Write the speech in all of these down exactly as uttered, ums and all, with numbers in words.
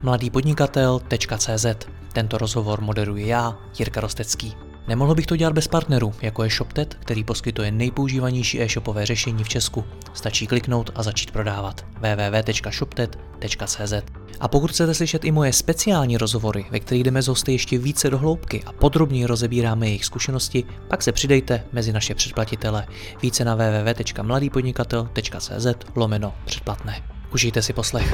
mladý podnikatel tečka cé zet. Tento rozhovor moderuji já, Jirka Rostecký. Nemohl bych to dělat bez partnerů, jako je ShopTet, který poskytuje nejpoužívanější e-shopové řešení v Česku. Stačí kliknout a začít prodávat. w w w tečka shoptet tečka cé zet. A pokud chcete slyšet i moje speciální rozhovory, ve kterých jdeme z hosty ještě více do hloubky a podrobněji rozebíráme jejich zkušenosti, pak se přidejte mezi naše předplatitele. Více na w w w tečka mladý podnikatel tečka cé zet lomeno předplatné. Užijte si poslech.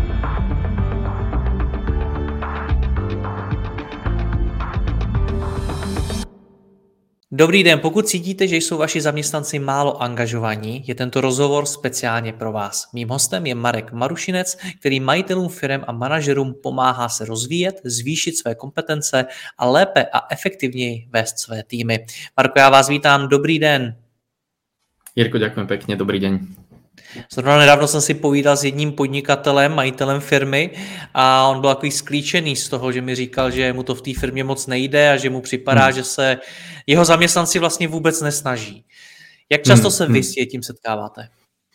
Dobrý den, pokud cítíte, že jsou vaši zaměstnanci málo angažovaní, je tento rozhovor speciálně pro vás. Mým hostem je Marek Marušinec, který majitelům firem a manažerům pomáhá se rozvíjet, zvýšit své kompetence a lépe a efektivněji vést své týmy. Marko, já vás vítám, dobrý den. Jirko, ďakujem pekne, dobrý deň. Zrovna nedávno jsem si povídal s jedním podnikatelem, majitelem firmy a on byl takový sklíčený z toho, že mi říkal, že mu to v té firmě moc nejde a že mu připadá, hmm. že se jeho zaměstnanci vlastně vůbec nesnaží. Jak často hmm. se vy s tím setkáváte?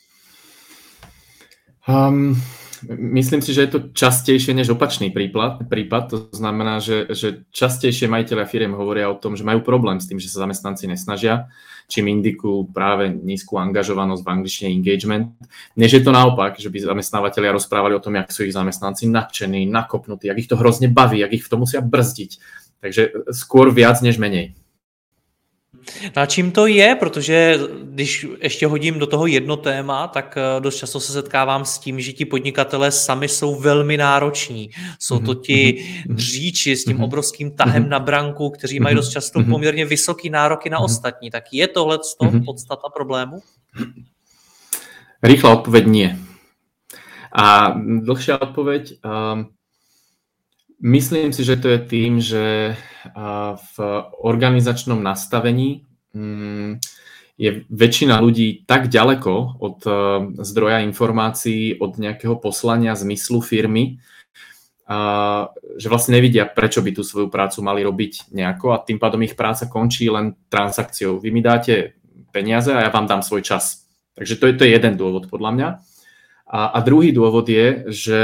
Um, myslím si, že je to častejšie než opačný prípad. prípad. To znamená, že, že častejšie majitelia firiem hovoria o tom, že majú problém s tým, že sa zamestnanci nesnažia, čím indikujú práve nízku angažovanosť, v angličtine engagement. Než je to naopak, že by zamestnávateľia rozprávali o tom, jak sú ich zamestnanci nadšení, nakopnutí, jak ich to hrozne baví, jak ich v tom musia brzdiť. Takže skôr viac než menej. No a čím to je? Protože když ještě hodím do toho jedno téma, tak dost často se setkávám s tím, že ti podnikatelé sami jsou velmi nároční. Jsou to ti dříči s tím obrovským tahem na branku, kteří mají dost často poměrně vysoký nároky na ostatní. Tak je tohle podstata problému? Rýchla odpoveď nie. A dlhšia odpoveď... Um... Myslím si, že to je tým, že v organizačnom nastavení je väčšina ľudí tak ďaleko od zdroja informácií, od nejakého poslania, zmyslu firmy, že vlastne nevidia, prečo by tú svoju prácu mali robiť nejako a tým pádom ich práca končí len transakciou. Vy mi dáte peniaze a ja vám dám svoj čas. Takže to je, to je jeden dôvod podľa mňa. A, a druhý dôvod je, že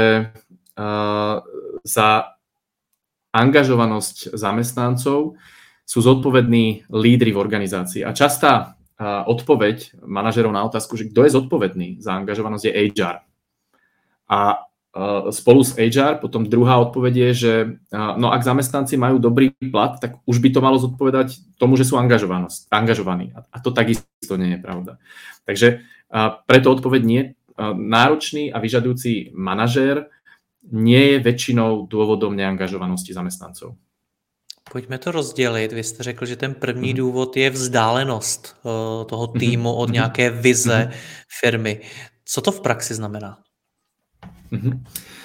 za angažovanosť zamestnancov sú zodpovední lídri v organizácii. A častá odpoveď manažerov na otázku, že kto je zodpovedný za angažovanosť, je há er. A spolu s há er potom druhá odpoveď je, že no ak zamestnanci majú dobrý plat, tak už by to malo zodpovedať tomu, že sú angažovaní. A to takisto nie je pravda. Takže preto odpoveď nie. Náročný a vyžadujúci manažér nie je väčšinou dôvodom neangažovanosti zamestnancov. Pojďme to rozdělit. Vy jste řekl, že ten první mm. důvod je vzdálenost toho týmu od nějaké vize mm. firmy. Co to v praxi znamená? Mm.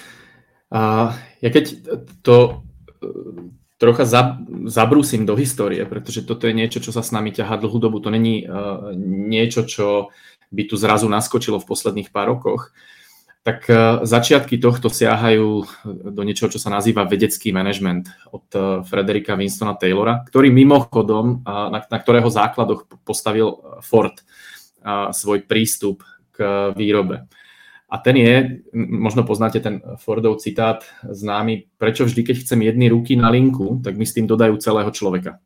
A ja keď to trocha zabrúsim do histórie, pretože toto je niečo, čo sa s nami ťahá dlhú dobu. To není niečo, čo by tu zrazu naskočilo v posledných pár rokoch. Tak začiatky tohto siahajú do niečoho, čo sa nazýva vedecký manažment od Fredericka Winstona Taylora, ktorý mimochodom, na, na ktorého základoch postavil Ford svoj prístup k výrobe. A ten je, možno poznáte ten Fordov citát známy, prečo vždy, keď chcem jedny ruky na linku, tak mi s tým dodajú celého človeka.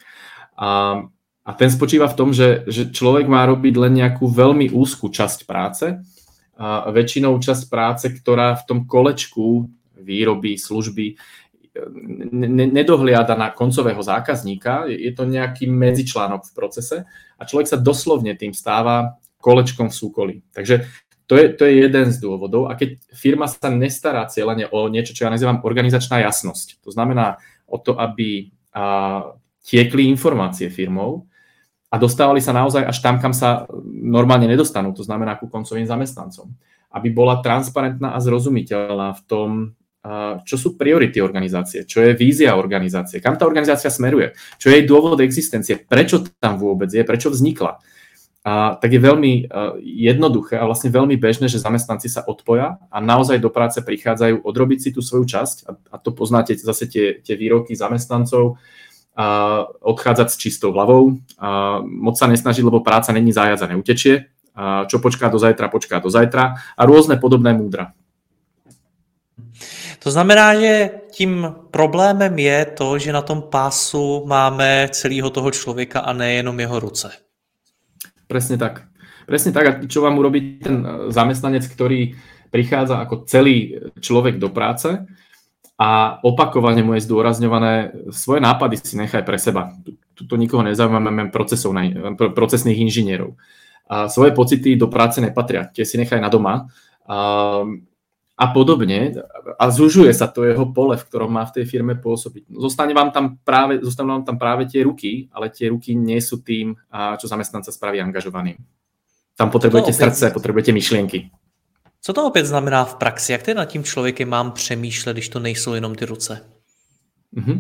A, a ten spočíva v tom, že, že človek má robiť len nejakú veľmi úzkú časť práce, a väčšinou časť práce, ktorá v tom kolečku výroby, služby ne- nedohliada na koncového zákazníka. Je to nejaký medzičlánok v procese a človek sa doslovne tým stáva kolečkom v súkolí. Takže to je, to je jeden z dôvodov. A keď firma sa nestará cieľene o niečo, čo ja nazývam organizačná jasnosť, to znamená o to, aby a, tiekli informácie firmou, a dostávali sa naozaj až tam, kam sa normálne nedostanú, to znamená ku koncovým zamestnancom. Aby bola transparentná a zrozumiteľná v tom, čo sú priority organizácie, čo je vízia organizácie, kam tá organizácia smeruje, čo je jej dôvod existencie, prečo tam vôbec je, prečo vznikla. A tak je veľmi jednoduché a vlastne veľmi bežné, že zamestnanci sa odpoja a naozaj do práce prichádzajú odrobiť si tú svoju časť a, a to poznáte zase tie, tie výroky zamestnancov, a odchádzať s čistou hlavou, a moc sa nesnažiť, lebo práca není zájazd a neutečie, a čo počká do zajtra, počká do zajtra a rôzne podobné múdra. To znamená, že tím problémem je to, že na tom pásu máme celého toho člověka a nejenom jeho ruce. Presne tak. Presne tak. A čo vám urobí ten zamestnanec, ktorý prichádza ako celý človek do práce a opakovane mu je zdôrazňované, svoje nápady si nechaj pre seba. Tuto nikoho nezaujímame, procesných inžinierov. A svoje pocity do práce nepatria, tie si nechaj na doma. A, a podobne. A zužuje sa to jeho pole, v ktorom má v tej firme pôsobiť. Zostane vám tam práve, zostanú vám tam práve tie ruky, ale tie ruky nie sú tým, čo zamestnanca spraví angažovaným. Tam potrebujete srdce, potrebujete myšlienky. Co to opět znamená v praxi? Jak tedy nad tím člověkem mám přemýšlet, když to nejsou jenom ty ruce? Uh-huh.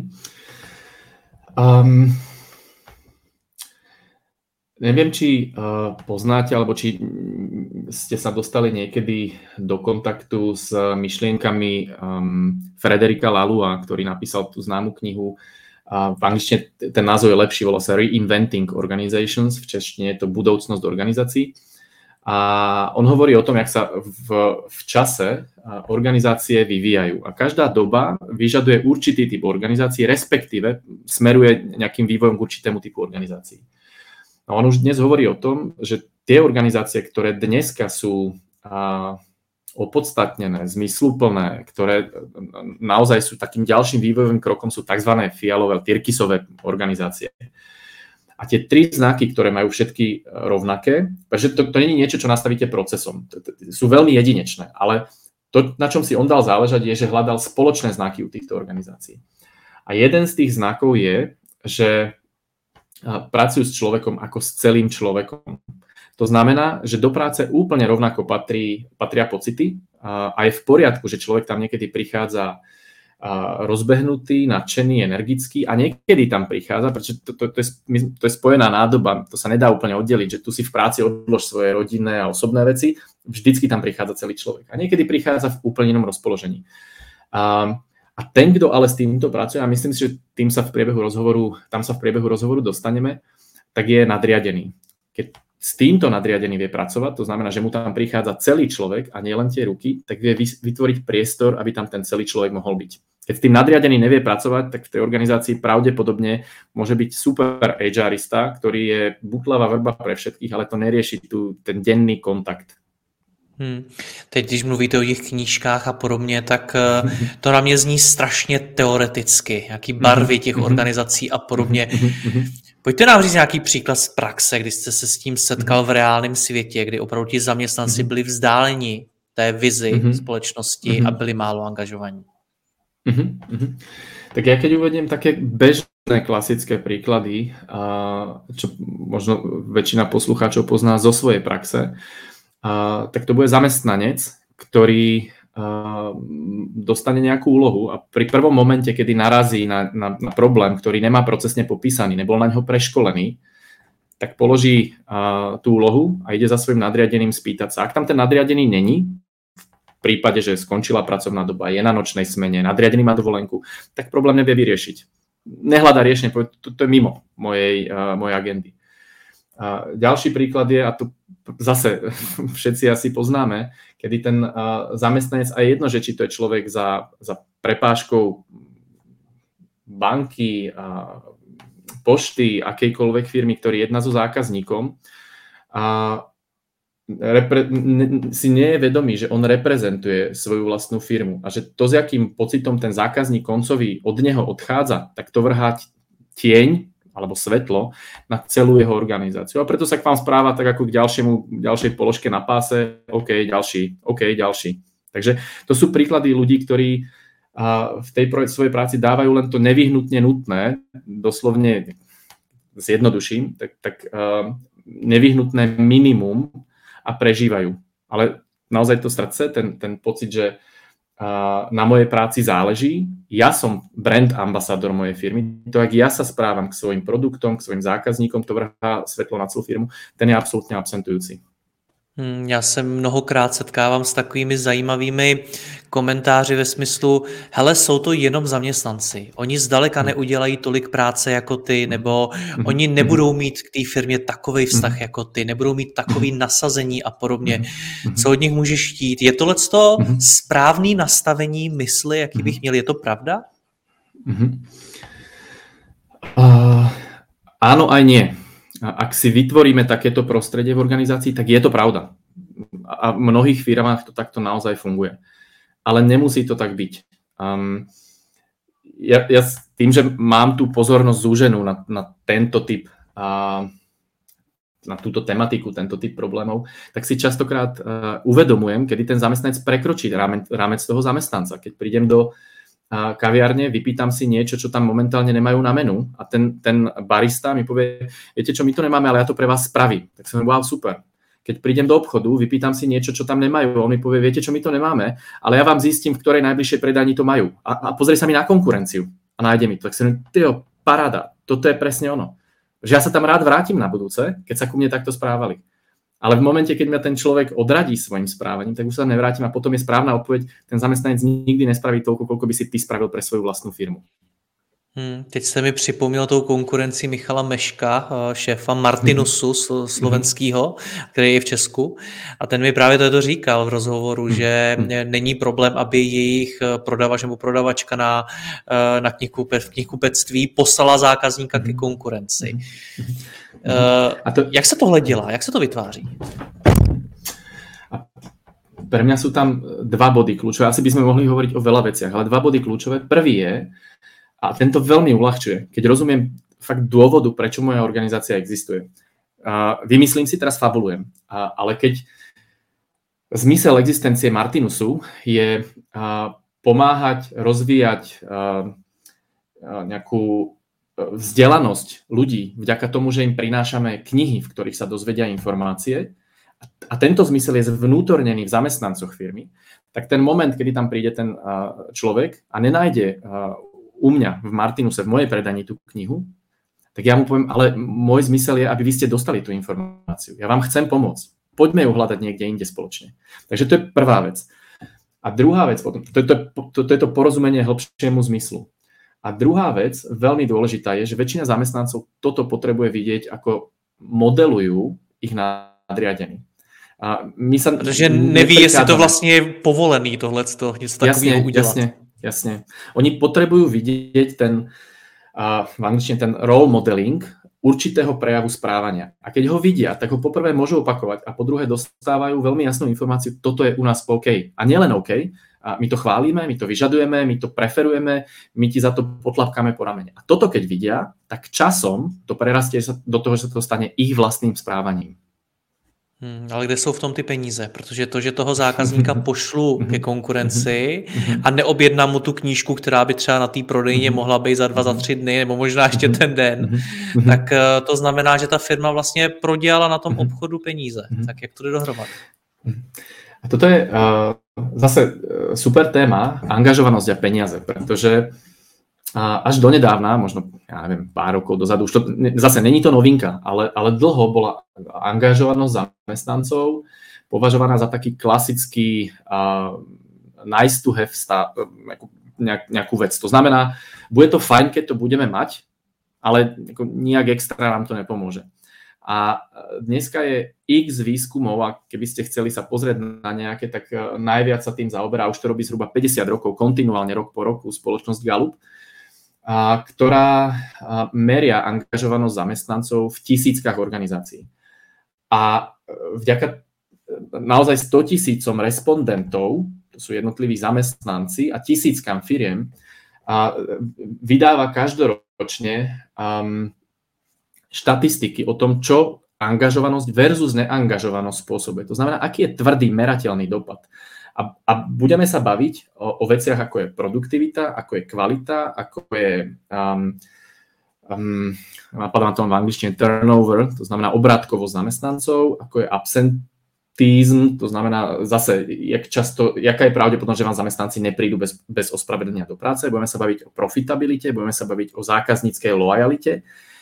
Um, neviem, či uh, poznáte, alebo či ste sa dostali niekedy do kontaktu s myšlienkami um, Frederika Laloua, ktorý napísal tú známu knihu. Uh, v angličtine ten názov je lepší, volá sa Reinventing Organizations, v češtine je to Budoucnosť organizácií. A on hovorí o tom, jak sa v, v čase organizácie vyvíjajú. A každá doba vyžaduje určitý typ organizácií, respektíve smeruje nejakým vývojom k určitému typu organizácií. A on už dnes hovorí o tom, že tie organizácie, ktoré dneska sú a, opodstatnené, zmysluplné, ktoré naozaj sú takým ďalším vývojovým krokom, sú tzv. Fialové, tyrkysové organizácie. A tie tri znaky, ktoré majú všetky rovnaké, pretože to, to nie je niečo, čo nastavíte procesom. Sú veľmi jedinečné, ale to, na čom si on dal záležať, je, že hľadal spoločné znaky u týchto organizácií. A jeden z tých znakov je, že pracujú s človekom ako s celým človekom. To znamená, že do práce úplne rovnako patrí, patria pocity a je v poriadku, že človek tam niekedy prichádza rozbehnutý, nadšený, energický a niekedy tam prichádza, pretože to, to, to, je, to je spojená nádoba, to sa nedá úplne oddeliť, že tu si v práci odlož svoje rodinné a osobné veci, vždycky tam prichádza celý človek a niekedy prichádza v úplne inom rozpoložení. A, a ten, kto ale s týmto pracuje, a myslím si, že tým sa v priebehu rozhovoru, tam sa v priebehu rozhovoru dostaneme, tak je nadriadený. Keď s týmto nadriadený vie pracovať, to znamená, že mu tam prichádza celý človek a nie len tie ruky, tak vie vytvoriť priestor, aby tam ten celý človek mohol byť. Keď s tým nadriadený nevie pracovať, tak v tej organizácii pravdepodobne môže byť super HRista, ktorý je butlavá vrba pre všetkých, ale to nerieši tu ten denný kontakt. Hmm. Teď, když mluvíte o těch knížkách a podobně, tak to na mě zní strašně teoreticky, jaký barvy těch organizací a podobně. Pojďte nám říct nějaký příklad z praxe, kdy jste se s tím setkal v reálném světě, kdy opravdu ti zaměstnanci byli vzdáleni té vizi společnosti a byli málo angažovaní. Uh-huh, uh-huh. Tak ja keď uvediem také bežné klasické príklady, a čo možno väčšina poslucháčov pozná zo svojej praxe, a tak to bude zamestnanec, ktorý a, dostane nejakú úlohu a pri prvom momente, kedy narazí na, na, na problém, ktorý nemá procesne popísaný, nebol na ňo preškolený, tak položí a, tú úlohu a ide za svojím nadriadeným spýtať sa. Ak tam ten nadriadený není, v prípade, že skončila pracovná doba, je na nočnej smene, nadriadený má dovolenku, tak problém nevie vyriešiť. Nehľadá riešenie, to, to je mimo mojej, uh, mojej agendy. Uh, ďalší príklad je, a tu zase všetci asi poznáme, kedy ten uh, zamestnanec, a je jedno, že či to je človek za, za prepážkou banky, uh, pošty, akejkoľvek firmy, ktorý jedná so zákazníkom, uh, Repre- si nie je vedomý, že on reprezentuje svoju vlastnú firmu a že to, s jakým pocitom ten zákazník koncový od neho odchádza, tak to vrhá tieň alebo svetlo na celú jeho organizáciu. A preto sa k vám správa tak ako k ďalšiemu, ďalšej položke na páse, OK, ďalší, OK, ďalší. Takže to sú príklady ľudí, ktorí v tej svojej práci dávajú len to nevyhnutne nutné, doslovne zjednoduším, tak, tak nevyhnutné minimum a prežívajú. Ale naozaj to srdce, ten, ten pocit, že uh, na mojej práci záleží, ja som brand ambasádor mojej firmy, to, ak ja sa správam k svojim produktom, k svojim zákazníkom, to vrhá svetlo na celú firmu, ten je absolútne absentujúci. Hmm, já se mnohokrát setkávám s takovými zajímavými komentáři ve smyslu, hele, jsou to jenom zaměstnanci. Oni zdaleka Mhm. neudělají tolik práce jako ty, nebo Mhm. oni Mhm. nebudou mít k té firmě takový vztah Mhm. jako ty, nebudou mít takový nasazení a podobně. Mhm. Co od nich můžeš chtít? Je tohleto Mhm. správný nastavení mysli, jaký bych Mhm. měl? Je to pravda? Mhm. Uh, áno aj nie. Ak si vytvoríme takéto prostredie v organizácii, tak je to pravda. A v mnohých firmách to takto naozaj funguje. Ale nemusí to tak byť. Um, ja, ja tým, že mám tú pozornosť zúženú na, na tento typ uh, na túto tematiku, tento typ problémov, tak si častokrát uh, uvedomujem, kedy ten zamestnanec prekročí rámec, rámec toho zamestnanca. Keď prídem do uh, kaviárne, vypýtam si niečo, čo tam momentálne nemajú na menu a ten, ten barista mi povie, viete čo, my to nemáme, ale ja to pre vás spravím. Tak som wow, super. Keď prídem do obchodu, vypýtam si niečo, čo tam nemajú, on mi povie, viete čo, my to nemáme, ale ja vám zistím, v ktorej najbližšej predajni to majú. A, a pozrie sa mi na konkurenciu a nájde mi to. Tak si hovorím, tyjo, paráda, toto je presne ono. Že ja sa tam rád vrátim na budúce, keď sa ku mne takto správali. Ale v momente, keď mňa ten človek odradí svojim správaním, tak už sa nevrátim a potom je správna odpoveď, ten zamestnanec nikdy nespraví toľko, koľko by si ty spravil pre svoju vlastnú firmu. Hmm, teď jste mi připomněl tou konkurenci Michala Meška, šéfa Martinusu mm-hmm. slovenského, který je v Česku. A ten mi právě to říkal v rozhovoru, mm-hmm. že není problém, aby jejich prodavač nebo prodavačka na, na knihkupe, v knihkupectví poslala zákazníka mm-hmm. ke konkurenci. Mm-hmm. Uh, A to... Jak se tohle dělá? Jak se to vytváří? A pre mňa sú tam dva body kľúčové. Asi by sme mohli hovoriť o veľa veciach, ale dva body kľúčové. Prvý je, a tento veľmi uľahčuje, keď rozumiem fakt dôvodu, prečo moja organizácia existuje. Uh, vymyslím si, teraz fabulujem, uh, ale keď zmysel existencie Martinusu je uh, pomáhať rozvíjať uh, uh, nejakú vzdelanosť ľudí vďaka tomu, že im prinášame knihy, v ktorých sa dozvedia informácie, a, a tento zmysel je zvnútornený v zamestnancoch firmy, tak ten moment, kedy tam príde ten uh, človek a nenájde uh, u mňa v Martinuse, v mojej predani tú knihu, tak ja mu poviem, ale môj zmysel je, aby vy ste dostali tú informáciu. Ja vám chcem pomôcť. Poďme ju hľadať niekde inde spoločne. Takže to je prvá vec. A druhá vec, to je to, to, to, je to porozumenie hĺbšiemu zmyslu. A druhá vec, veľmi dôležitá je, že väčšina zamestnancov toto potrebuje vidieť, ako modelujú ich nadriadení. A my sa Protože neví, jestli to vlastne je povolený tohleto, něco takového udělat. Jasne, jasne. Oni potrebujú vidieť ten, uh, v angličtine ten role modeling určitého prejavu správania. A keď ho vidia, tak ho poprvé môžu opakovať a po druhé dostávajú veľmi jasnú informáciu, toto je u nás OK. A nielen OK, a my to chválime, my to vyžadujeme, my to preferujeme, my ti za to potlapkáme po ramene. A toto keď vidia, tak časom to prerastie do toho, že to stane ich vlastným správaním. Hmm, ale kde jsou v tom ty peníze? Protože to, že toho zákazníka pošlu ke konkurenci a neobjednám mu tu knížku, která by třeba na té prodejně mohla být za dva, za tři dny, nebo možná ještě ten den, tak to znamená, že ta firma vlastně prodělala na tom obchodu peníze. Tak jak to jde dohromady? A toto je uh, zase uh, super téma, angažovanosť a peniaze, pretože uh, až donedávna, možno ja neviem, pár rokov dozadu, už to, zase není to novinka, ale, ale dlho bola angažovanosť zamestnancov považovaná za taký klasický uh, nice to have stav, nejakú, nejakú vec. To znamená, bude to fajn, keď to budeme mať, ale nijak extra nám to nepomôže. A dneska je x výskumov, a keby ste chceli sa pozrieť na nejaké, tak najviac sa tým zaoberá, už to robí zhruba päťdesiat rokov, kontinuálne rok po roku, spoločnosť Gallup, a, ktorá a, meria angažovanosť zamestnancov v tisíckach organizácií. A vďaka naozaj stotisícom respondentov, to sú jednotliví zamestnanci a tisíckam firiem, a vydáva každoročne um, štatistiky o tom, čo angažovanosť versus neangažovanosť spôsobuje. To znamená, aký je tvrdý, merateľný dopad. A, a budeme sa baviť o, o veciach, ako je produktivita, ako je kvalita, ako je, um, um, napadá na tom v angličtine turnover, to znamená obrátkovosť zamestnancov, ako je absentízm, to znamená zase, jak často, jaká je pravdepodobnosť, že vám zamestnanci neprídu bez, bez ospravedlnenia do práce. Budeme sa baviť o profitabilite, budeme sa baviť o zákazníckej loajalite.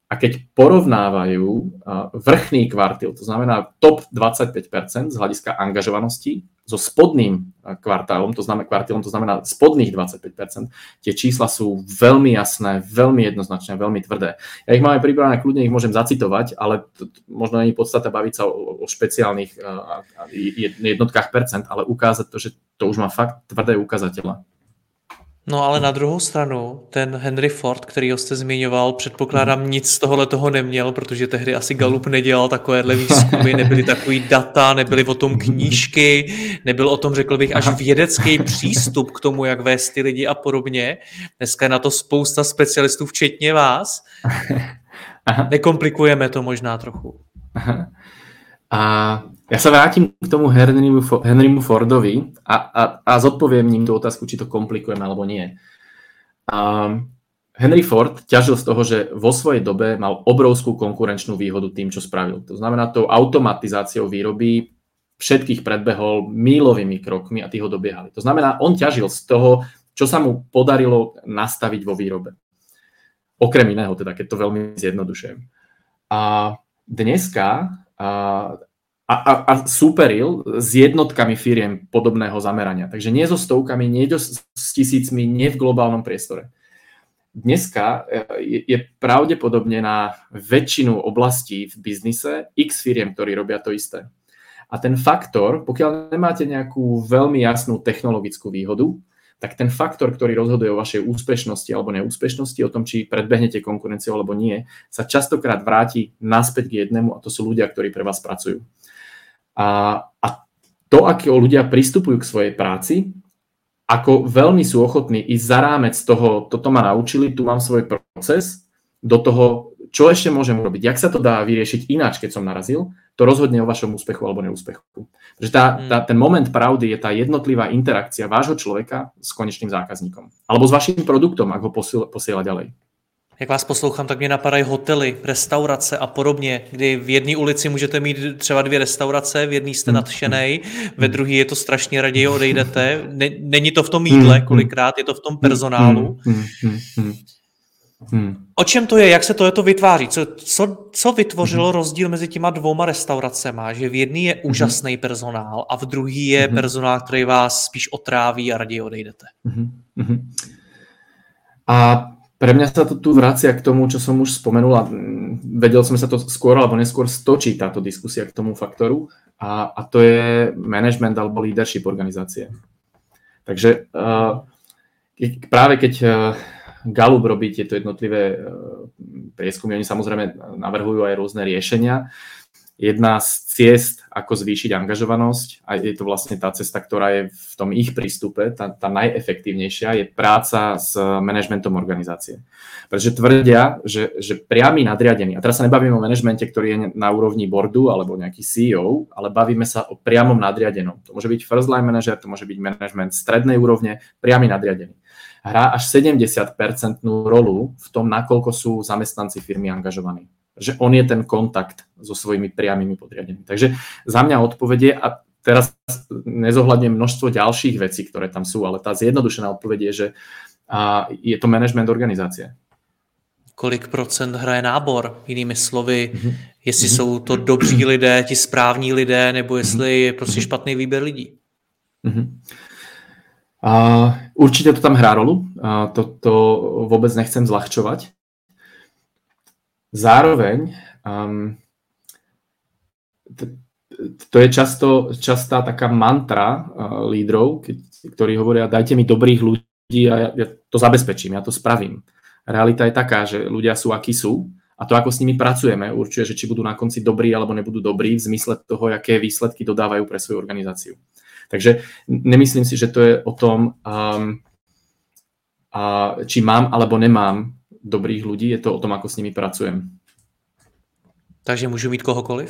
A keď porovnávajú vrchný kvartil, to znamená top dvadsaťpäť percent z hľadiska angažovanosti, so spodným kvartálom, to znamená kvartálom, to znamená spodných dvadsaťpäť percent, tie čísla sú veľmi jasné, veľmi jednoznačné, veľmi tvrdé. Ja ich máme pripravené, kľudne ich môžem zacitovať, ale to, to, možno nie je podstata baviť sa o, o špeciálnych uh, jednotkách percent, ale ukázať to, že to už má fakt tvrdé ukazateľe. No ale na druhou stranu, ten Henry Ford, kterýho jste zmiňoval, předpokládám mm. nic z tohohle toho neměl, protože tehdy asi Gallup nedělal takovéhle výzkumy, nebyly takový data, nebyly o tom knížky, nebyl o tom, řekl bych, až vědecký přístup k tomu, jak vést ty lidi a podobně. Dneska je na to spousta specialistů, včetně vás. Aha. Nekomplikujeme to možná trochu. Aha. A ja sa vrátim k tomu Henrymu, Henrymu Fordovi a, a, a zodpoviem ním tú otázku, či to komplikujeme alebo nie. Um, Henry Ford ťažil z toho, že vo svojej dobe mal obrovskú konkurenčnú výhodu tým, čo spravil. To znamená, tou automatizáciou výroby všetkých predbehol mílovými krokmi a tí ho dobiehali. To znamená, on ťažil z toho, čo sa mu podarilo nastaviť vo výrobe. Okrem iného, teda, keď to veľmi zjednodušujem. A dneska a, a, a superil s jednotkami firiem podobného zamerania. Takže nie so stovkami, nie s tisícmi, nie v globálnom priestore. Dneska je, je pravdepodobne na väčšinu oblastí v biznise x firiem, ktorí robia to isté. A ten faktor, pokiaľ nemáte nejakú veľmi jasnú technologickú výhodu, tak ten faktor, ktorý rozhoduje o vašej úspešnosti alebo neúspešnosti, o tom, či predbehnete konkurenciu alebo nie, sa častokrát vráti naspäť k jednému a to sú ľudia, ktorí pre vás pracujú. A, a to, ako ľudia pristupujú k svojej práci, ako veľmi sú ochotní ísť za rámec toho, toto ma naučili, tu mám svoj proces, do toho, čo ešte môžem urobiť, jak sa to dá vyriešiť ináč, keď som narazil, to rozhodne o vašom úspechu alebo neúspechu. Pretože tá, tá, ten moment pravdy je tá jednotlivá interakcia vášho človeka s konečným zákazníkom. Alebo s vaším produktom, ak ho posiela, posiela ďalej. Jak vás poslouchám, tak mě napadají hotely, restaurace a podobně, kdy v jedné ulici můžete mít třeba dvě restaurace, v jedné jste nadšenej, ve druhé je to strašně raději odejdete. Není to v tom jídle kolikrát, je to v tom personálu. Hmm. O čem to je? Jak se to vytváří? Co, co, co vytvořilo hmm. rozdíl mezi těma dvouma restauracema? Že v jedné je hmm. úžasný personál a v druhý je hmm. personál, který vás spíš otráví a raději odejdete. Hmm. A pre mňa sa to tu vracia k tomu, čo som už spomenul a vedel som, sa to skôr alebo neskôr stočí táto diskusia k tomu faktoru a, a to je management alebo leadership organizácie. Takže uh, práve keď uh, Gallup robí tieto jednotlivé prieskumy. Oni samozrejme navrhujú aj rôzne riešenia. Jedna z ciest, ako zvýšiť angažovanosť, a je to vlastne tá cesta, ktorá je v tom ich prístupe, tá, tá najefektívnejšia, je práca s manažmentom organizácie. Pretože tvrdia, že, že priamy nadriadený, a teraz sa nebavíme o manažmente, ktorý je na úrovni boardu alebo nejaký C E O, ale bavíme sa o priamom nadriadenom. To môže byť first line manager, to môže byť management strednej úrovne, priamy nadriadený. Hrá až sedemdesiat percent rolu v tom, nakoľko sú zamestnanci firmy angažovaní. Že on je ten kontakt so svojimi priamými podriadenými. Takže za mňa odpovedie, a teraz nezohľadňujem množstvo ďalších vecí, ktoré tam sú, ale tá zjednodušená odpoveď je, že je to management organizácie. Kolik procent hraje nábor? Jinými slovy, mm-hmm. jestli mm-hmm. jsou to dobří lidé, ti správní lidé, nebo jestli je prostě špatný výběr lidí. Mm-hmm. Uh, určite to tam hrá rolu, uh, to, to vôbec nechcem zľahčovať. Zároveň um, t- to je často, častá taká mantra uh, lídrov, keď, ktorí hovoria, dajte mi dobrých ľudí a ja, ja to zabezpečím, ja to spravím. Realita je taká, že ľudia sú, akí sú a to, ako s nimi pracujeme, určuje, že či budú na konci dobrí alebo nebudú dobrí v zmysle toho, aké výsledky dodávajú pre svoju organizáciu. Takže nemyslím si, že to je o tom, um, a či mám alebo nemám dobrých ľudí, je to o tom, ako s nimi pracujem. Takže môžu mít kohokoliv?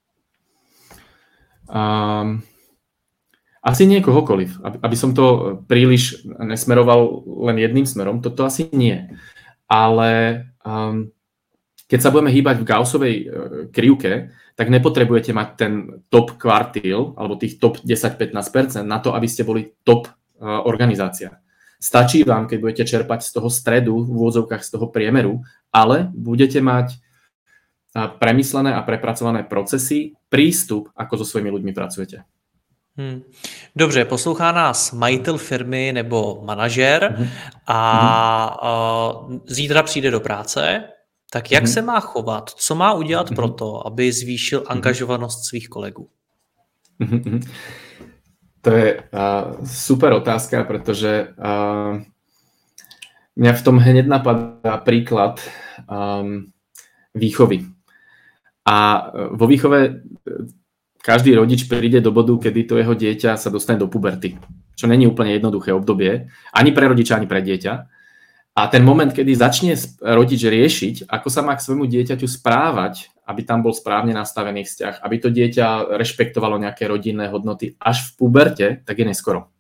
Um, asi nie kohokoliv. Aby, aby som to príliš nesmeroval len jedným smerom, toto asi nie. Ale um, keď sa budeme hýbať v Gaussovej uh, krivke, tak nepotrebujete mať ten top kvartíl alebo tých top desať až pätnásť percent na to, aby ste boli top uh, organizácia. Stačí vám, keď budete čerpať z toho stredu, v úvodzovkách z toho priemeru, ale budete mať premyslené a prepracované procesy, prístup, ako so svými ľuďmi pracujete. Hmm. Dobře, poslouchá nás majitel firmy nebo manažer mm-hmm. a, a zítra přijde do práce, tak jak mm-hmm. se má chovat? Co má udělat mm-hmm. pro to, aby zvýšil angažovanost svých kolegů? Mm-hmm. To je uh, super otázka, pretože uh, mňa v tom hneď napadá príklad um, výchovy. A vo výchove každý rodič príde do bodu, kedy to jeho dieťa sa dostane do puberty, čo není úplne jednoduché obdobie, ani pre rodiča, ani pre dieťa. A ten moment, kedy začne rodič riešiť, ako sa má k svojmu dieťaťu správať, aby tam bol správne nastavený vzťah, aby to dieťa rešpektovalo nejaké rodinné hodnoty až v puberte, tak je neskoro.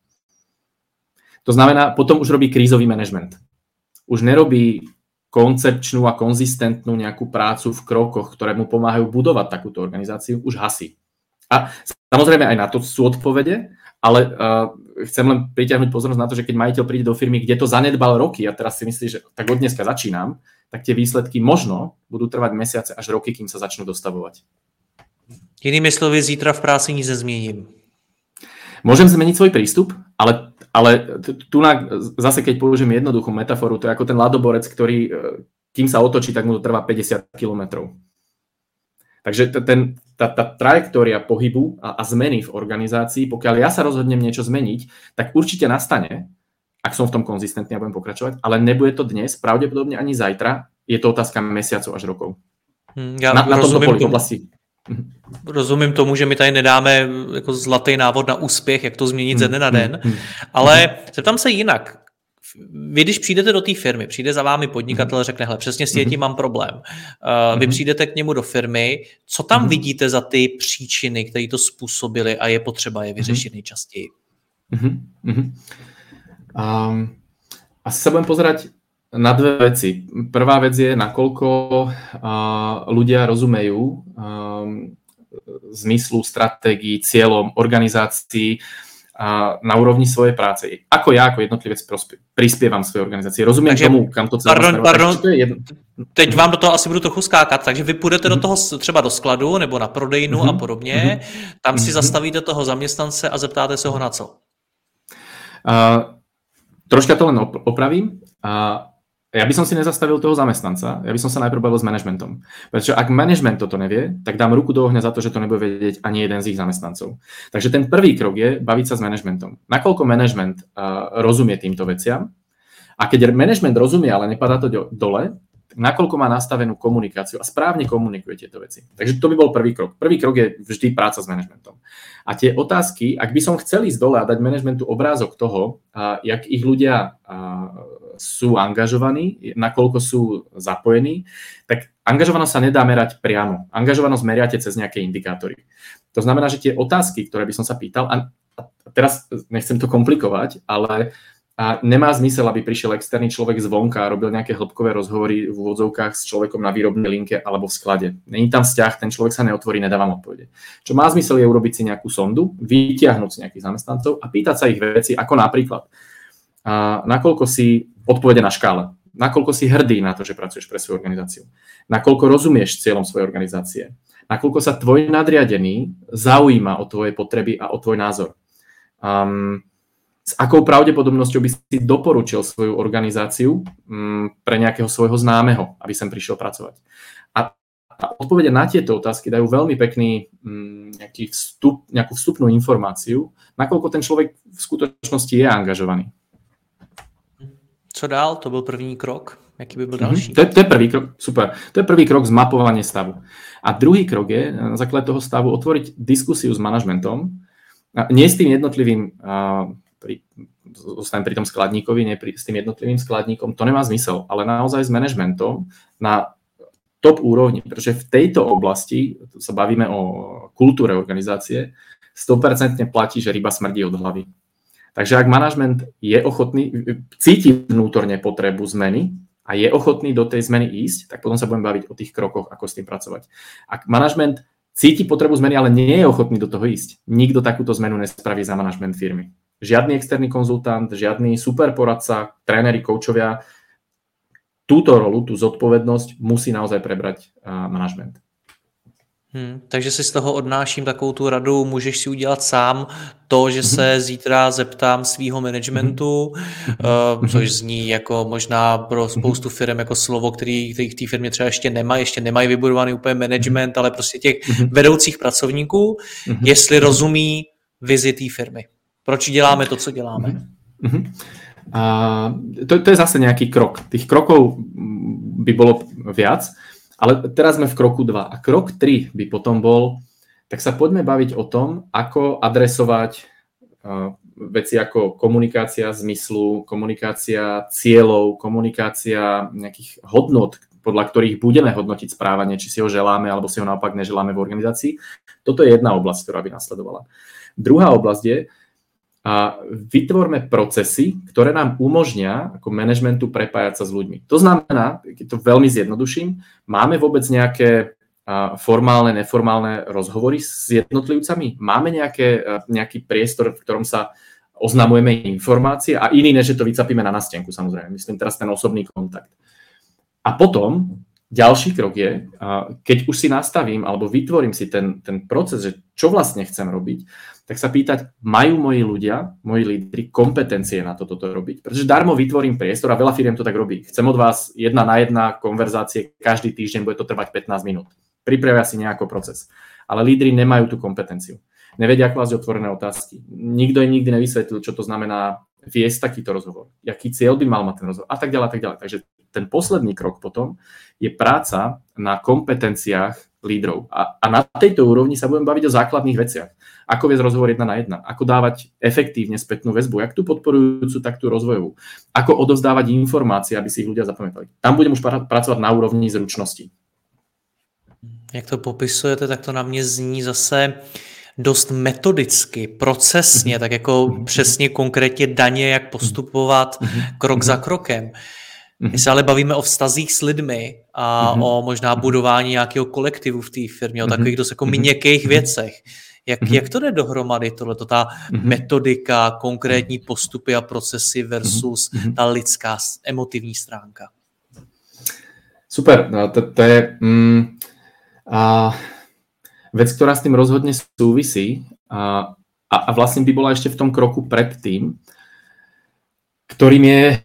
To znamená, potom už robí krízový manažment. Už nerobí koncepčnú a konzistentnú nejakú prácu v krokoch, ktoré mu pomáhajú budovať takúto organizáciu, už hasí. A samozrejme aj na to sú odpovede, ale uh, chcem len pritiahnuť pozornosť na to, že keď majiteľ príde do firmy, kde to zanedbal roky a teraz si myslí, že tak od dneska začínam, tak tie výsledky možno budú trvať mesiace až roky, kým sa začnú dostavovať. Jinými slovy, zítra v práci nic nezměním. Môžem zmeniť svoj prístup, ale, ale tu na, zase keď použijem jednoduchú metaforu, to je ako ten ľadoborec, ktorý, kým sa otočí, tak mu to trvá päťdesiat kilometrov. Takže ten, tá, tá trajektória pohybu a, a zmeny v organizácii, pokiaľ ja sa rozhodnem niečo zmeniť, tak určite nastane, ak som v tom konzistentný a budem pokračovať, ale nebude to dnes, pravdepodobne ani zajtra, je to otázka mesiacov až rokov. Hmm, ja na, na tomto poli v oblasti. Rozumím tomu, že my tady nedáme jako zlatý návod na úspěch, jak to změnit ze dne na den, ale zeptám se jinak. Vy, když přijdete do té firmy, přijde za vámi podnikatel, řekne, hele, přesně s tím mám problém. Vy přijdete k němu do firmy, co tam vidíte za ty příčiny, které to způsobily a je potřeba je vyřešit nejčastěji? Um, asi sa budem pozerať na dve veci. Prvá vec je, nakoľko uh, ľudia rozumejú um, zmyslu, stratégii, cieľom, organizácií uh, na úrovni svojej práce. Ako ja, ako jednotlivec prospie, prispievam svojej organizácii. Rozumiem takže, tomu, kam to celé pardon, pardon, to je jedno... Teď vám do toho asi budu trochu skákat, takže vy půjdete mm-hmm. do toho třeba do skladu nebo na prodejnu mm-hmm. a podobně, mm-hmm. tam si mm-hmm. zastavíte toho zaměstnance a zeptáte se ho na co? Uh, troška to len opravím. Uh, Ja by som si nezastavil toho zamestnanca, ja by som sa najprv bavil s manažmentom. Pretože ak manažment toto nevie, tak dám ruku do ohňa za to, že to nebude vedieť ani jeden z ich zamestnancov. Takže ten prvý krok je baviť sa s manažmentom. Nakoľko manažment uh, rozumie týmto veciam a keď manažment rozumie, ale nepadá to do, dole, nakoľko má nastavenú komunikáciu a správne komunikuje tieto veci. Takže to by bol prvý krok. Prvý krok je vždy práca s manažmentom. A tie otázky, ak by som chcel ísť dole a dať manažmentu obrázok toho, uh, jak ich ľudia uh, sú angažovaní, nakoľko sú zapojení, tak angažovanosť sa nedá merať priamo. Angažovanosť meriate cez nejaké indikátory. To znamená, že tie otázky, ktoré by som sa pýtal, a teraz nechcem to komplikovať, ale nemá zmysel, aby prišiel externý človek zvonka a robil nejaké hĺbkové rozhovory v úvodzovkách s človekom na výrobnej linke alebo v sklade. Není tam vzťah, ten človek sa neotvorí, nedávam odpovede. Čo má zmysel je urobiť si nejakú sondu, vytiahnuť si nejakých zamestnancov a pýtať sa ich veci, ako napríklad a nakoľko si odpovede na škále, nakoľko si hrdý na to, že pracuješ pre svoju organizáciu, nakoľko rozumieš cieľom svojej organizácie, nakoľko sa tvoj nadriadený zaujíma o tvoje potreby a o tvoj názor. Um, s akou pravdepodobnosťou by si doporučil svoju organizáciu um, pre nejakého svojho známeho, aby sem prišiel pracovať. A, a odpovede na tieto otázky dajú veľmi pekný um, nejaký vstup, nejakú vstupnú informáciu, nakoľko ten človek v skutočnosti je angažovaný. Co dál? To byl první krok. Jaký by byl další? Mm-hmm. To, je, to je prvý krok, super. To je prvý krok zmapovanie stavu. A druhý krok je na základe toho stavu otvoriť diskusiu s manažmentom. Nie s tým jednotlivým, pri, zostanem pri tom skladníkovi, nie pri, s tým jednotlivým skladníkom, to nemá zmysel, ale naozaj s manažmentom na top úrovni, pretože v tejto oblasti, tu sa bavíme o kultúre organizácie, sto percent platí, že ryba smrdí od hlavy. Takže ak manažment je ochotný, cíti vnútorne potrebu zmeny a je ochotný do tej zmeny ísť, tak potom sa budeme baviť o tých krokoch, ako s tým pracovať. Ak manažment cíti potrebu zmeny, ale nie je ochotný do toho ísť. Nikto takúto zmenu nespraví za manažment firmy. Žiadny externý konzultant, žiadny super poradca, tréneri, koučovia. Túto rolu, tú zodpovednosť musí naozaj prebrať uh, manažment. Hmm, takže si z toho odnáším takovou tu radu, můžeš si udělat sám to, že se zítra zeptám svýho managementu, uh, což zní jako možná pro spoustu firm jako slovo, který, který v té firmě třeba ještě nemají, ještě nemají vybudovaný úplně management, ale prostě těch vedoucích pracovníků, jestli rozumí vizi té firmy. Proč děláme to, co děláme? A to, to je zase nejaký krok. Tých krokov by bolo viac, ale teraz sme v kroku dva. A krok tri by potom bol, tak sa poďme baviť o tom, ako adresovať uh, veci ako komunikácia zmyslu, komunikácia cieľov, komunikácia nejakých hodnot, podľa ktorých budeme hodnotiť správanie, či si ho želáme, alebo si ho naopak neželáme v organizácii. Toto je jedna oblasť, ktorá by nasledovala. Druhá oblasť je, a vytvorme procesy, ktoré nám umožnia ako manažmentu prepájať sa s ľuďmi. To znamená, keď to veľmi zjednoduším, máme vôbec nejaké formálne, neformálne rozhovory s jednotlivcami? Máme nejaké, nejaký priestor, v ktorom sa oznamujeme informácie a iný, než že to vycapíme na nástenku, samozrejme. Myslím teraz ten osobný kontakt. A potom ďalší krok je, keď už si nastavím alebo vytvorím si ten, ten proces, že čo vlastne chcem robiť, tak sa pýtať, majú moji ľudia, moji lídri kompetencie na toto robiť? Pretože darmo vytvorím priestor a veľa firiem to tak robí. Chcem od vás jedna na jedna konverzácie každý týždeň, bude to trvať pätnásť minút. Pripravia si nejaký proces. Ale lídri nemajú tú kompetenciu. Nevedia klásť otvorené otázky. Nikto im nikdy nevysvetlil, čo to znamená viesť takýto rozhovor. Jaký cieľ by mal mať ten rozhovor a tak ďalej, a tak ďalej. Takže ten posledný krok potom je práca na kompetenciách lídrov. A, a na tejto úrovni sa budem baviť o základných veciach. Ako viesť rozhovor jedna na jedna, ako dávať efektívne spätnú väzbu, jak tú podporujúcu, tak tú rozvojovú. Ako odovzdávať informácie, aby si ich ľudia zapamätali. Tam budem už pracovať na úrovni zručností. Jak to popisujete, tak to na mě zní zase dost metodicky, procesně, mm-hmm. tak jako mm-hmm. přesně konkrétně daně, jak postupovat mm-hmm. krok mm-hmm. za krokem. Mm-hmm. My se ale bavíme o vztazích s lidmi a mm-hmm. o možná budování nějakého kolektivu v té firmě, mm-hmm. o takových dost jako mm-hmm. měkkých věcech. Jak, mm-hmm. jak to jde dohromady, tohleto, ta mm-hmm. metodika, konkrétní postupy a procesy versus mm-hmm. ta lidská, emotivní stránka? Super, no, to, to je mm, a, vec, ktorá s tým rozhodne súvisí a, a, a vlastne by bola ešte v tom kroku predtým, ktorým je a,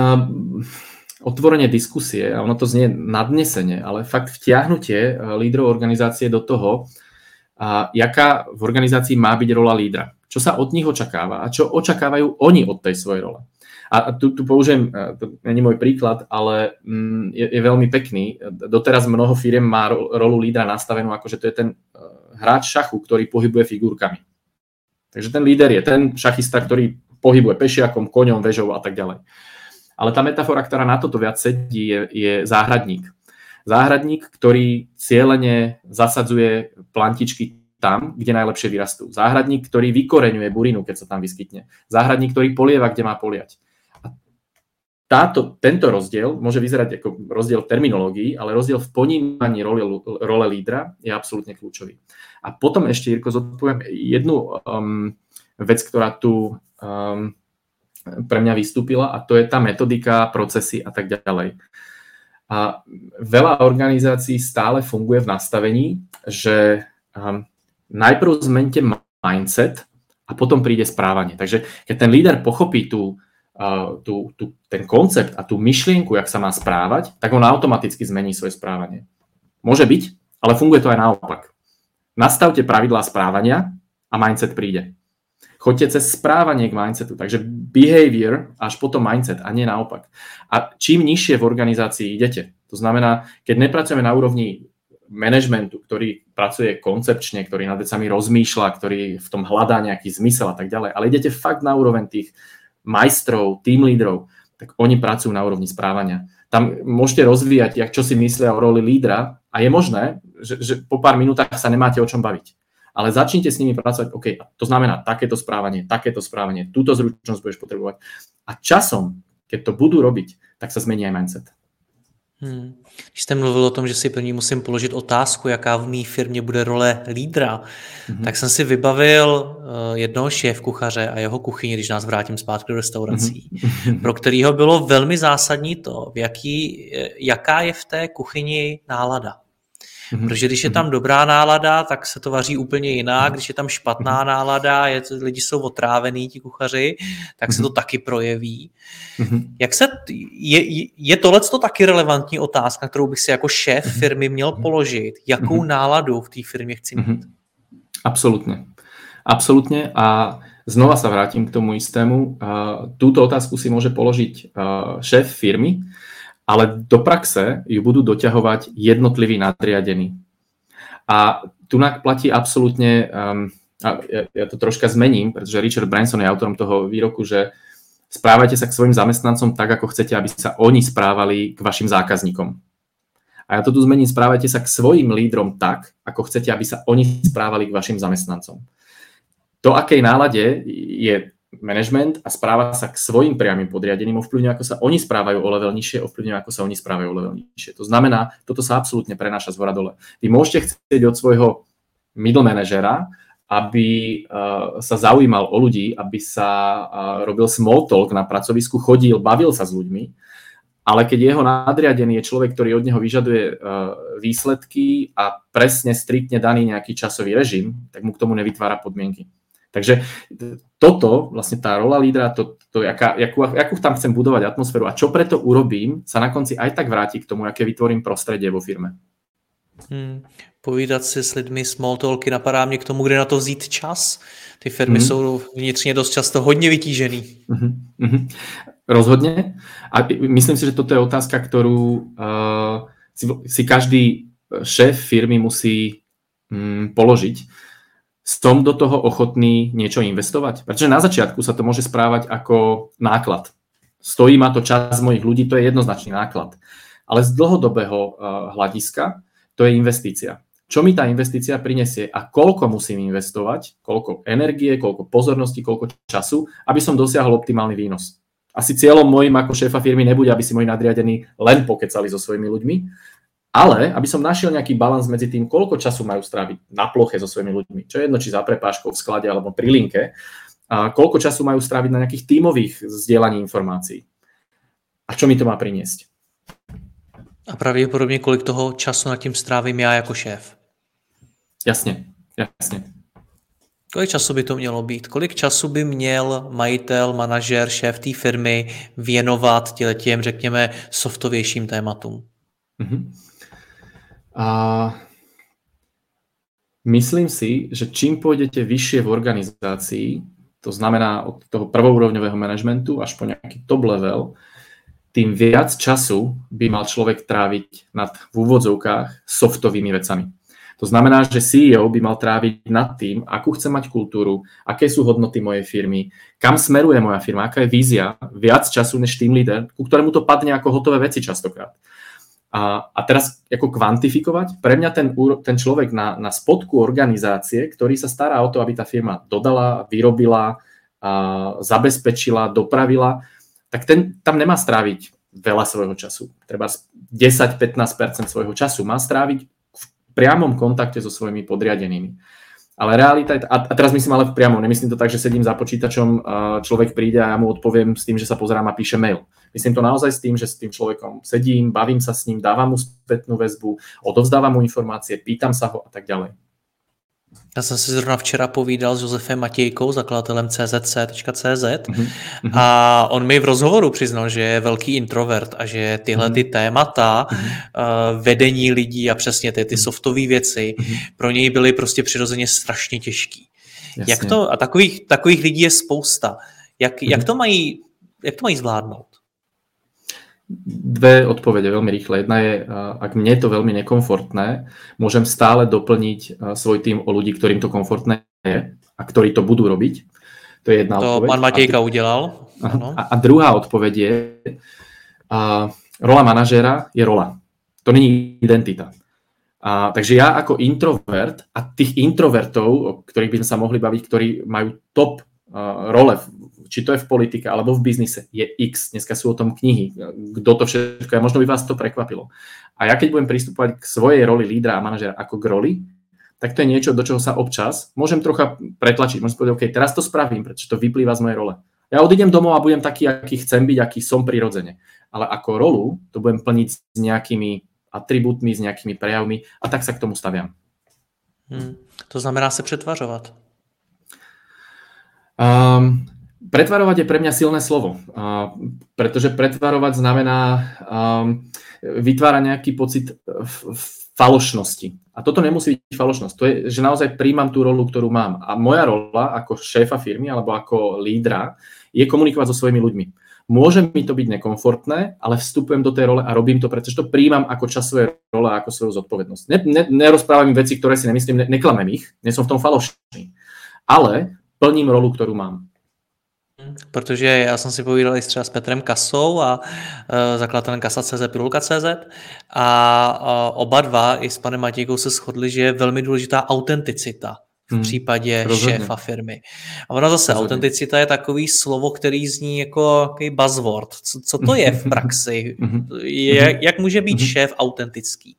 otvorenie diskusie, a ono to znie nadnesenie, ale fakt vtiahnutie lídrov organizácie do toho, a jaká v organizácii má byť rola lídra. Čo sa od nich očakáva a čo očakávajú oni od tej svojej role. A tu, tu použijem, to nie je môj príklad, ale je, je veľmi pekný. Doteraz mnoho firiem má rolu lídra nastavenú ako, že to je ten hráč šachu, ktorý pohybuje figurkami. Takže ten líder je ten šachista, ktorý pohybuje pešiakom, koňom, vežou a tak ďalej. Ale tá metafora, ktorá na toto viac sedí, je, je záhradník. Záhradník, ktorý cieľene zasadzuje plantičky tam, kde najlepšie vyrastú. Záhradník, ktorý vykoreňuje burinu, keď sa tam vyskytne. Záhradník, ktorý polieva, kde má poliať. A táto, tento rozdiel môže vyzerať ako rozdiel v terminológii, ale rozdiel v ponímaní role, role lídra je absolútne kľúčový. A potom ešte, Jirko, zodpoviem jednu um, vec, ktorá tu um, pre mňa vystúpila, a to je tá metodika, procesy a tak ďalej. A veľa organizácií stále funguje v nastavení, že um, najprv zmente mindset a potom príde správanie. Takže keď ten líder pochopí tú, uh, tú, tú, ten koncept a tú myšlienku, jak sa má správať, tak on automaticky zmení svoje správanie. Môže byť, ale funguje to aj naopak. Nastavte pravidlá správania a mindset príde. Choďte cez správanie k mindsetu, takže behavior až potom mindset a nie naopak. A čím nižšie v organizácii idete, to znamená, keď nepracujeme na úrovni managementu, ktorý pracuje koncepčne, ktorý nad vecami rozmýšľa, ktorý v tom hľadá nejaký zmysel a tak ďalej, ale idete fakt na úroveň tých majstrov, team lídrov, tak oni pracujú na úrovni správania. Tam môžete rozvíjať, jak čo si myslia o roli lídra a je možné, že, že po pár minútach sa nemáte o čom baviť. Ale začnite s nimi pracovať, OK, to znamená takéto správanie, takéto správanie, túto zručnosť budeš potrebovať. A časom, keď to budú robiť, tak sa zmení aj mindset. Hmm. Když jste mluvil o tom, že si první musím položit otázku, jaká v mé firmě bude role lídra, mm-hmm. tak jsem si vybavil uh, jednoho šéfkuchaře a jeho kuchyni, když nás vrátím zpátky do restaurací, mm-hmm. pro kterého bylo velmi zásadní to, v jaký, jaká je v té kuchyni nálada. Mm-hmm. Protože když je tam dobrá nálada, tak se to vaří úplně jinak. Když je tam špatná mm-hmm. nálada, je, lidi jsou otrávený, ti kuchaři, tak mm-hmm. se to taky projeví. Mm-hmm. Jak se, je, je tohleto taky relevantní otázka, kterou bych si jako šéf firmy měl položit? Jakou mm-hmm. náladu v té firmě chci mít? Mm-hmm. Absolutně. Absolutně a znova sa vrátim k tomu istému. Túto otázku si môže položiť šéf firmy, ale do praxe ju budú doťahovať jednotliví nadriadení. A tu platí absolútne, um, a ja, ja to troška zmením, pretože Richard Branson je autorom toho výroku, že správajte sa k svojim zamestnancom tak, ako chcete, aby sa oni správali k vašim zákazníkom. A ja to tu zmením, správajte sa k svojim lídrom tak, ako chcete, aby sa oni správali k vašim zamestnancom. To, akej nálade je management a správa sa k svojim priamym podriadeným, ovplyvňuje, ako sa oni správajú o level nižšie, ovplyvňuje, ako sa oni správajú o level nižšie. To znamená, toto sa absolútne prenáša z hora dole. Vy môžete chcieť od svojho middle manažera, aby uh, sa zaujímal o ľudí, aby sa uh, robil small talk na pracovisku, chodil, bavil sa s ľuďmi, ale keď jeho nadriadený je človek, ktorý od neho vyžaduje uh, výsledky a presne striktne daný nejaký časový režim, tak mu k tomu nevytvára podmienky. Takže toto, vlastne tá rola lídra, to, to, jaká, jakú, jakú tam chcem budovať atmosféru a čo preto urobím, sa na konci aj tak vráti k tomu, aké vytvorím prostredie vo firme. Hmm. Povídat si s lidmi, small talky, napadá mě k tomu, kde na to vzít čas. Ty firmy hmm. jsou vnitřně dost často hodně vytížený. Hmm. Hmm. Rozhodne. A myslím si, že toto je otázka, ktorú uh, si, si každý šéf firmy musí um, položiť. Som do toho ochotný niečo investovať? Pretože na začiatku sa to môže správať ako náklad. Stojí ma to čas mojich ľudí, to je jednoznačný náklad. Ale z dlhodobého hľadiska to je investícia. Čo mi tá investícia prinesie a koľko musím investovať, koľko energie, koľko pozornosti, koľko času, aby som dosiahol optimálny výnos. Asi cieľom mojím ako šéfa firmy nebude, aby si moji nadriadení len pokecali so svojimi ľuďmi, ale aby som našiel nejaký balans medzi tým, koľko času majú stráviť na ploche so svojimi ľuďmi. Čo je jedno, či za prepážkou v sklade alebo pri linke. A koľko času majú stráviť na nejakých tímových zdieľaní informácií. A čo mi to má priniesť? A pravděpodobně kolik toho času nad tím strávím já jako šéf? Jasně, jasně. Kolik času by to mělo být? Kolik času by měl majitel, manažer, šéf té firmy věnovat těm, řekněme, softovějším tématům? Mhm. A myslím si, že čím pôjdete vyššie v organizácii, to znamená od toho prvourovňového manažmentu až po nejaký top level, tým viac času by mal človek tráviť nad v úvodzovkách softovými vecami. To znamená, že sí í ó by mal tráviť nad tým, akú chce mať kultúru, aké sú hodnoty mojej firmy, kam smeruje moja firma, aká je vízia, viac času než team leader, ku ktorému to padne ako hotové veci častokrát. A, a teraz ako kvantifikovať, pre mňa ten, ten človek na, na spodku organizácie, ktorý sa stará o to, aby tá firma dodala, vyrobila, a zabezpečila, dopravila, tak ten tam nemá stráviť veľa svojho času. Treba desať až pätnásť percent svojho času má stráviť v priamom kontakte so svojimi podriadenými. Ale realita je, a teraz myslím ale v priamom, nemyslím to tak, že sedím za počítačom, človek príde a ja mu odpoviem s tým, že sa pozerám a píše mail. Myslím to naozaj s tým, že s tým človekom sedím, bavím sa s ním, dávam mu spätnú väzbu, odovzdávam mu informácie, pýtam sa ho a tak ďalej. Já jsem si zrovna včera povídal s Josefem Matějkou, zakladatelem C Z C tečka cé zet mm-hmm. a on mi v rozhovoru přiznal, že je velký introvert a že tyhle mm-hmm. ty témata mm-hmm. uh, vedení lidí a přesně ty, ty softové věci mm-hmm. pro něj byly prostě přirozeně strašně těžký. Jasně. Jak to, a takových, takových lidí je spousta. Jak, mm-hmm. jak, to mají, jak to mají zvládnout? Dve odpovede veľmi rýchle. Jedna je, ak mne je to veľmi nekomfortné, môžem stále doplniť svoj tým o ľudí, ktorým to komfortné je a ktorí to budú robiť. To je jedna to odpoveď. To pán Matějka a, udělal. A, a druhá odpoveď je, a, rola manažéra je rola. To není identita. A, takže ja ako introvert a tých introvertov, o ktorých by sme sa mohli baviť, ktorí majú top a, role v, v či to je v politike alebo v biznise, je X. Dneska sú o tom knihy, kto to všetko je. Možno by vás to prekvapilo. A ja keď budem pristupovať k svojej roli lídra a manažera ako k roli, tak to je niečo, do čoho sa občas môžem trocha pretlačiť. Môžem povedať, OK, teraz to spravím, pretože to vyplýva z mojej role. Ja odídem domov a budem taký, aký chcem byť, aký som prirodzene. Ale ako rolu to budem plniť s nejakými atribútmi, s nejakými prejavmi a tak sa k tomu staviam. Hmm. To znamená se přetvařovat. Um, pretvarovať je pre mňa silné slovo, uh, pretože pretvarovať znamená um, vytvárať nejaký pocit f- falošnosti. A toto nemusí byť falošnosť. To je, že naozaj príjmam tú rolu, ktorú mám. A moja rola ako šéfa firmy alebo ako lídra je komunikovať so svojimi ľuďmi. Môže mi to byť nekomfortné, ale vstupujem do tej role a robím to, pretože to príjmam ako časť svojej role a ako svoju zodpovednosť. Ne, ne, nerozprávam im veci, ktoré si nemyslím, ne, neklamem ich, nie som v tom falošný. Ale plním rolu, ktorú mám. Protože já jsem si povídal i třeba s Petrem Kasou a uh, zakladatelem Kasa tečka cé zet, Pilulka tečka cé zet a uh, oba dva i s panem Matějkou se shodli, že je velmi důležitá autenticita v hmm, případě rozhodně. Šéfa firmy. A ono zase, rozhodně. Autenticita je takový slovo, který zní jako takový buzzword. Co, co to je v praxi? je, jak může být šéf autentický?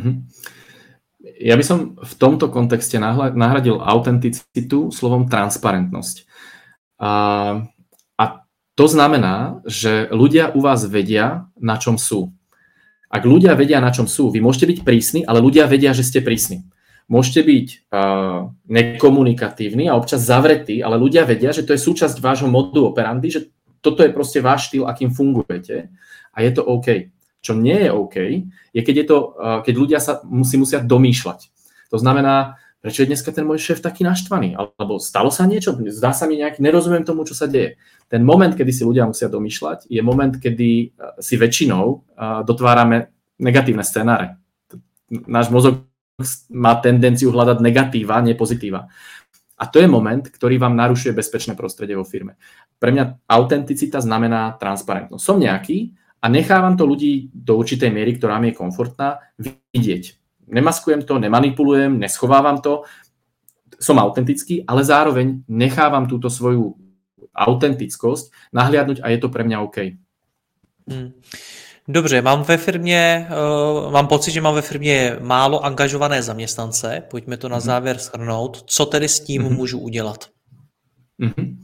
Ja by som v tomto kontexte nahradil autenticitu slovom transparentnosť. A, a to znamená, že ľudia u vás vedia, na čom sú. Ak ľudia vedia, na čom sú, vy môžete byť prísni, ale ľudia vedia, že ste prísni. Môžete byť uh, nekomunikatívni a občas zavretí, ale ľudia vedia, že to je súčasť vášho modu operandi, že toto je proste váš štýl, akým fungujete a je to OK. Čo nie je OK, je keď, je to, uh, keď ľudia sa musí, musia domýšľať. To znamená, prečo je dneska ten môj šéf taký naštvaný? Alebo stalo sa niečo? Zdá sa mi nejaký, nerozumiem tomu, čo sa deje. Ten moment, kedy si ľudia musia domýšľať, je moment, kedy si väčšinou uh, dotvárame negatívne scenáre. Náš mozog má tendenciu hľadať negatíva, nie pozitíva. A to je moment, ktorý vám narušuje bezpečné prostredie vo firme. Pre mňa autenticita znamená transparentnosť. Som nejaký a nechávam to ľudí do určitej miery, ktorá mi je komfortná, vidieť. Nemaskujem to, nemanipulujem, neschovávam to. Som autentický, ale zároveň nechávam túto svoju autentickosť nahliadnúť a je to pre mňa OK. Hmm. Dobře, mám ve firmě, uh, mám pocit, že mám ve firmě málo angažované zaměstnance. Pojďme to na závěr shrnout. Co tedy s tím mm-hmm. můžu udělat? Mm-hmm.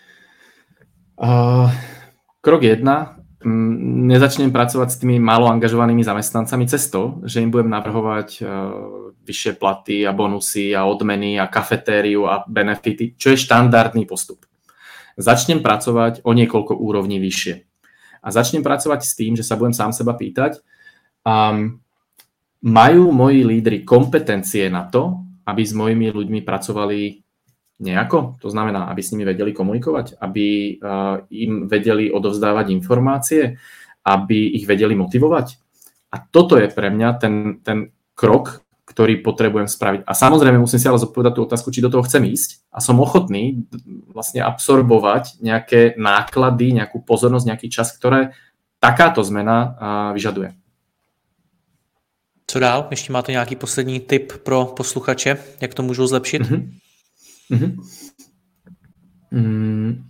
Uh, krok jedna. Nezačnem pracovať s tými málo angažovanými zamestnancami cez to, že im budem navrhovať uh, vyššie platy a bonusy a odmeny a kafetériu a benefity, čo je štandardný postup. Začnem pracovať o niekoľko úrovní vyššie. A začnem pracovať s tým, že sa budem sám seba pýtať, um, majú moji lídri kompetencie na to, aby s mojimi ľuďmi pracovali nejako? To znamená, aby s nimi vedeli komunikovať, aby uh, im vedeli odovzdávať informácie, aby ich vedeli motivovať. A toto je pre mňa ten, ten krok, ktorý potrebujem spraviť. A samozrejme musím si ale zodpovedať tú otázku, či do toho chcem ísť a som ochotný vlastne absorbovať nejaké náklady, nejakú pozornosť, nejaký čas, ktoré takáto zmena uh, vyžaduje. Co dál? Ještě máte nějaký poslední tip pro posluchače, jak to můžou zlepšit? Mm-hmm. Mm-hmm. Mm.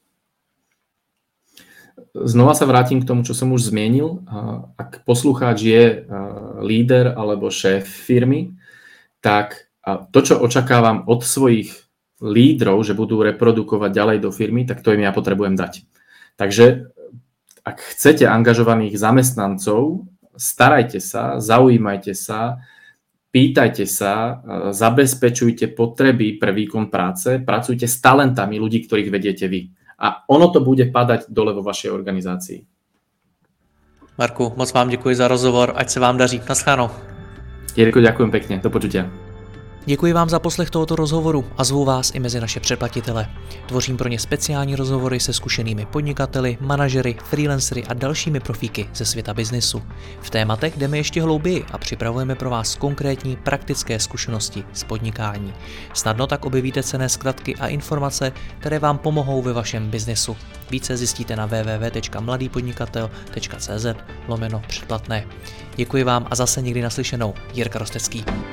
Znova sa vrátim k tomu, čo som už zmienil. Ak poslucháč je líder alebo šéf firmy, tak to, čo očakávam od svojich lídrov, že budú reprodukovať ďalej do firmy, tak to im ja potrebujem dať. Takže ak chcete angažovaných zamestnancov, starajte sa, zaujímajte sa, pýtajte sa, zabezpečujte potreby pre výkon práce, pracujte s talentami ľudí, ktorých vediete vy. A ono to bude padať dole vo vašej organizácii. Marku, moc vám děkuji za rozhovor, ať se vám daří. Naschledanou. Jirko, ďakujem pekne. Do počutia. Děkuji vám za poslech tohoto rozhovoru a zvu vás i mezi naše předplatitele. Tvořím pro ně speciální rozhovory se zkušenými podnikateli, manažery, freelancery a dalšími profíky ze světa biznesu. V tématech jdeme ještě hlouběji a připravujeme pro vás konkrétní praktické zkušenosti z podnikání. Snadno tak objevíte cenné zkratky a informace, které vám pomohou ve vašem biznesu. Více zjistíte na w w w tečka mladý podnikatel tečka cé zet lomeno předplatné. Děkuji vám a zase někdy naslyšenou. Jirka Rostecký.